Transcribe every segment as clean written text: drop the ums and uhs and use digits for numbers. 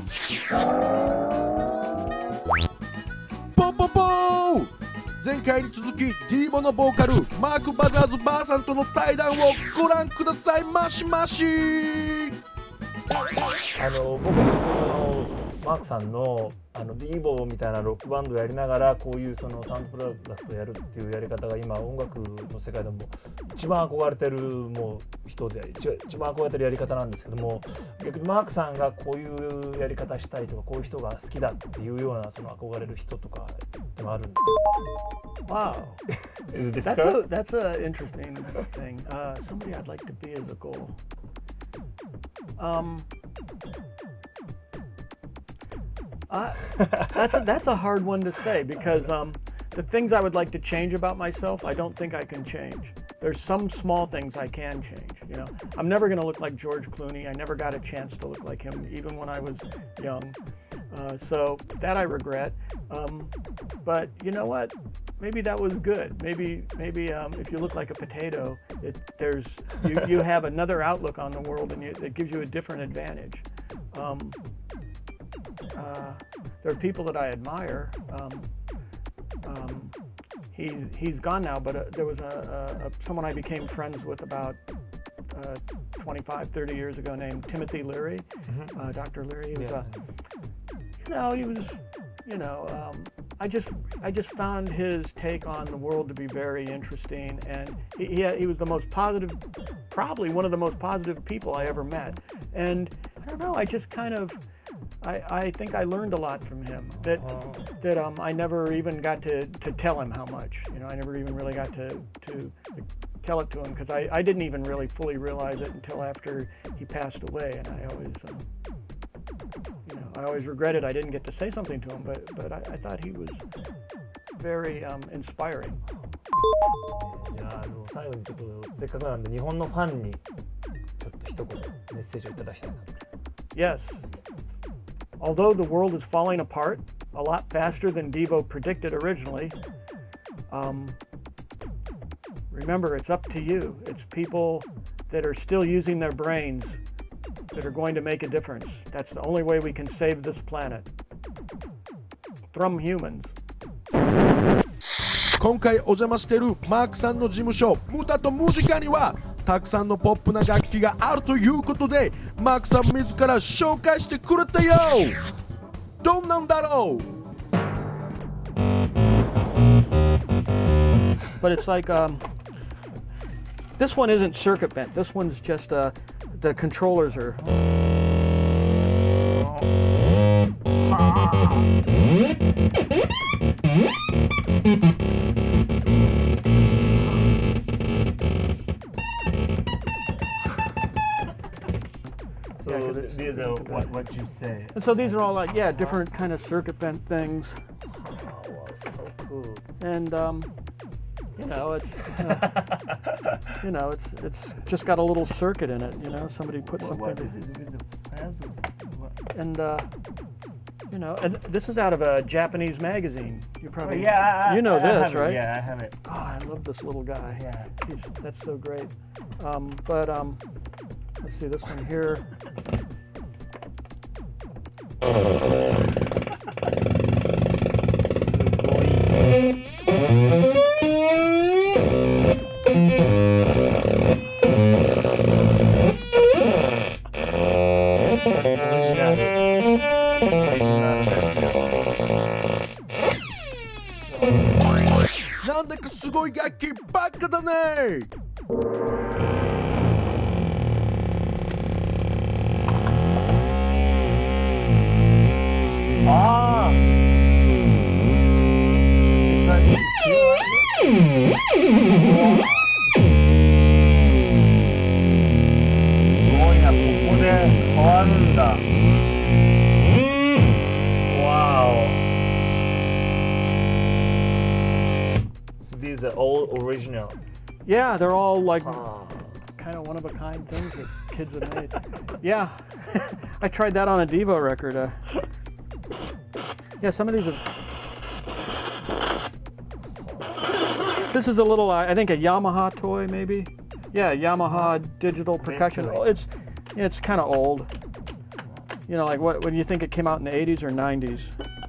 ポポポー、前回に続き Devo のボーカルマーク・バザーズ・バーさんとの対談をご覧くださいましまし。 僕は本当そのマークさんのDevoみたいなロックバンドをやりながらこういうそのサウンドプロダクトをやるっていうやり方が今音楽の世界でも一番憧れてるもう人で一番憧れてるやり方なんですけども、逆にマークさんがこういうやり方したいとかこういう人が好きだっていうようなその憧れる人とかでもあるんですよ。 Wow. Is it difficult? That's an interesting thing. Somebody I'd like to be as a goal. That's a hard one to say because the things I would like to change about myself, I don't think I can change. There's some small things I can change. You know, I'm never going to look like George Clooney. I never got a chance to look like him, even when I was young. So that I regret. But you know what? Maybe that was good. Maybe if you look like a potato, you have another outlook on the world, and it gives you a different advantage. There are people that I admire. He's gone now, but there was someone I became friends with about 25, 30 years ago named Timothy Leary, Dr. Leary. I just found his take on the world to be very interesting, and he was the most positive, probably one of the most positive people I ever met. And I don't know, I just kind of, I think I learned a lot from him that I never even got to tell him how much. You know, I never even really got to tell it to him because I didn't even really fully realize it until after he passed away, and I always regretted I didn't get to say something to him, but I thought he was very inspiring. じゃあ最後にちょっとせっかくなんで日本のファンにちょっと一言メッセージをいただきたいなと。 Yes. Although the world is falling apart a lot faster than Devo predicted originally, remember it's up to you. It's people that are still using their brains that are going to make a difference. That's the only way we can save this planet. From humans. 今回お邪魔しているマークさんの事務所ムタとムジカにはたくさんのポップな楽器があるということでマークさん自ら紹介してくれたよ。どんなんだろう。 But it's like this one isn't circuit bent. This one's just the controllers are. So these are what you say. And so these are all like different kind of circuit bent things. Oh, so cool. And it's just got a little circuit in it. You know, somebody put something. What is it? Is it fans or something? What? And and this is out of a Japanese magazine. You probably I this, have right? It. Yeah, I have it. God, I love this little guy. Yeah. That's so great. But let's see this one here. Oh. なんだかすごい楽器ばっかだね。 Ah! It's like... すごいな、ここで変わるんだ。Wow! So these are all original? Yeah, they're all like kind of one-of-a-kind things that kids have made. Yeah, I tried that on a Devo record. Yeah, some of these have... This is a little, I think a Yamaha toy maybe. Yeah, Yamaha digital percussion. Oh, it's kind of old. You know, like what do you think it came out in the 80s or 90s?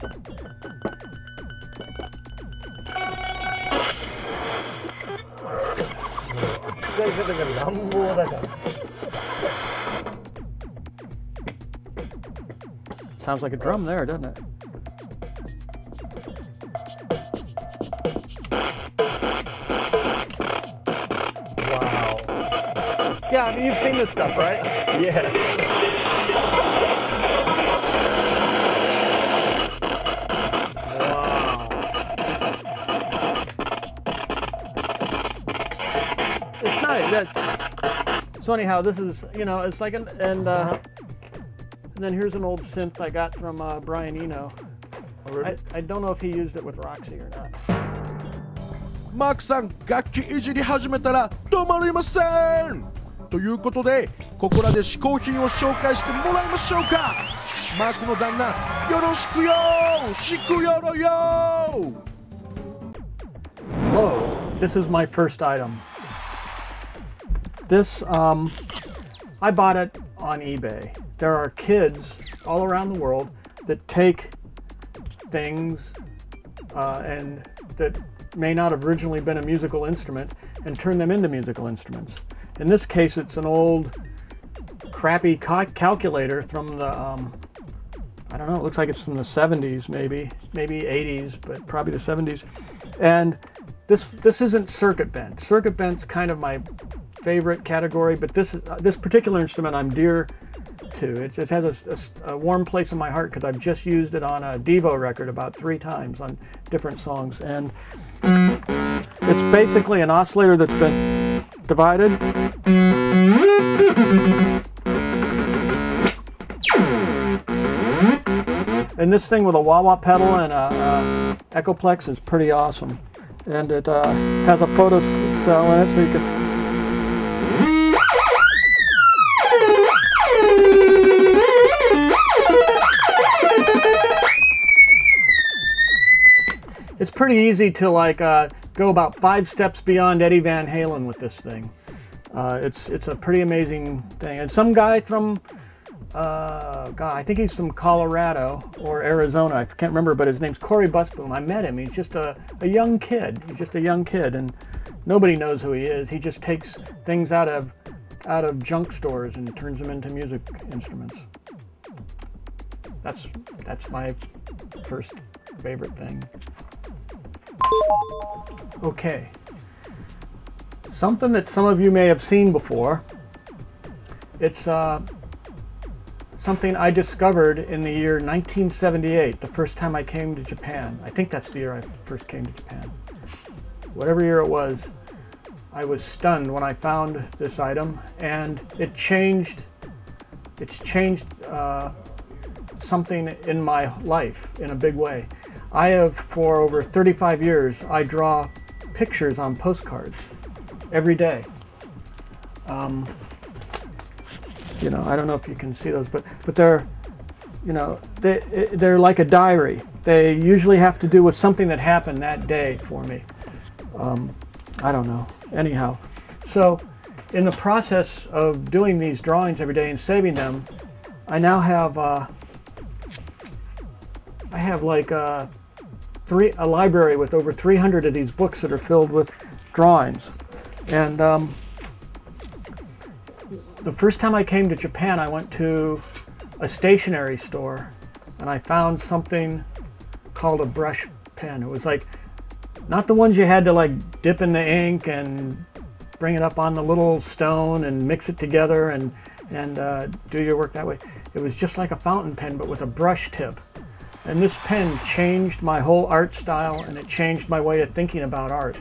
Sounds like a drum there, doesn't it? Wow. Yeah, I mean, you've seen this stuff, right? Yeah. Wow. It's nice. So anyhow, this is, you know, it's like and then here's an old synth I got from Brian Eno. Oh, really? I don't know if he used it with Roxy or not. マークさん楽器いじり始めたら止まりませんということでここらで試行品を紹介してもらいましょうかマークの旦那よろしくよしくよろよ Hello, this is my first item. This, I bought it on eBay. There are kids all around the world that take things and that may not have originally been a musical instrument and turn them into musical instruments. In this case, it's an old crappy calculator from the, I don't know, it looks like it's from the 70s maybe 80s, but probably the 70s. And this isn't circuit bent. Circuit bent's kind of my favorite category, but this particular instrument I'm dear to. It has a warm place in my heart because I've just used it on a Devo record about 3 times on different songs. And it's basically an oscillator that's been divided. And this thing with a wah-wah pedal and a Echoplex is pretty awesome. And it has a photo cell in it so you can... It's pretty easy to like go about 5 steps beyond Eddie Van Halen with this thing. It's a pretty amazing thing. And some guy from, I think he's from Colorado or Arizona. I can't remember, but his name's Corey Busboom. I met him. He's just a young kid. He's just a young kid, and nobody knows who he is. He just takes things out of junk stores and turns them into music instruments. That's my first favorite thing. Okay, something that some of you may have seen before. It's something I discovered in the year 1978, the first time I came to Japan. I think that's the year I first came to Japan. Whatever year it was, I was stunned when I found this item, and it's changed something in my life in a big way. I have, for over 35 years, I draw pictures on postcards every day. You know, I don't know if you can see those, but they're, you know, they're like a diary. They usually have to do with something that happened that day for me. I don't know. Anyhow, so in the process of doing these drawings every day and saving them, I now have like a library with over 300 of these books that are filled with drawings. And the first time I came to Japan, I went to a stationery store and I found something called a brush pen. It was like, not the ones you had to like dip in the ink and bring it up on the little stone and mix it together and do your work that way. It was just like a fountain pen, but with a brush tip. And this pen changed my whole art style, and it changed my way of thinking about art.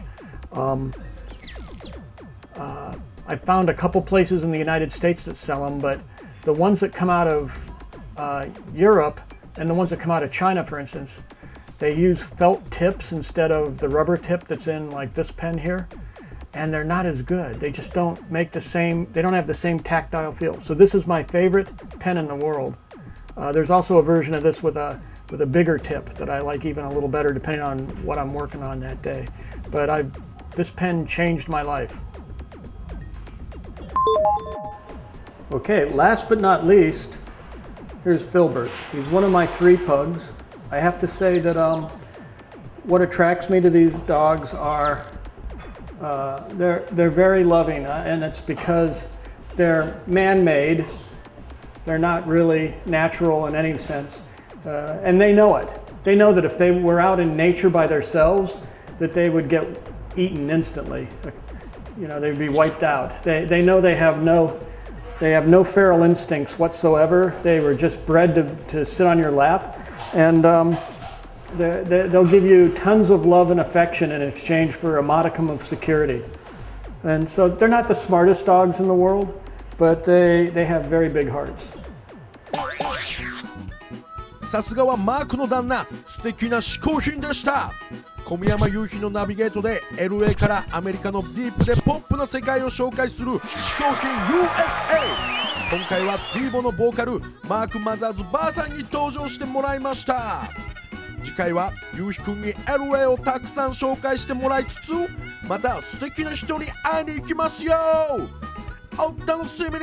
I found a couple places in the United States that sell them, but the ones that come out of Europe and the ones that come out of China, for instance, they use felt tips instead of the rubber tip that's in like this pen here, and they're not as good. They just don't make the same, they don't have the same tactile feel. So this is my favorite pen in the world. There's also a version of this with a bigger tip that I like even a little better depending on what I'm working on that day. But this pen changed my life. Okay, last but not least, Here's Filbert. He's one of my 3 pugs. I have to say that what attracts me to these dogs are they're very loving, and it's because they're man-made. They're not really natural in any sense, and they know it. They know that if they were out in nature by themselves, that they would get eaten instantly. You know, they'd be wiped out. They know they have no feral instincts whatsoever. They were just bred to sit on your lap, and they'll give you tons of love and affection in exchange for a modicum of security. And so they're not the smartest dogs in the world, but they have very big hearts. さすがはマークの旦那、素敵な嗜好品でした。小宮山雄飛のナビゲートで LA からアメリカのディープでポップな世界を紹介する嗜好品 USA。 今回はディーボのボーカルマーク・マザーズ・バーさんに登場してもらいました。次回は雄飛くんに LA をたくさん紹介してもらいつつ、また素敵な人に会いに行きますよ。お楽しみに。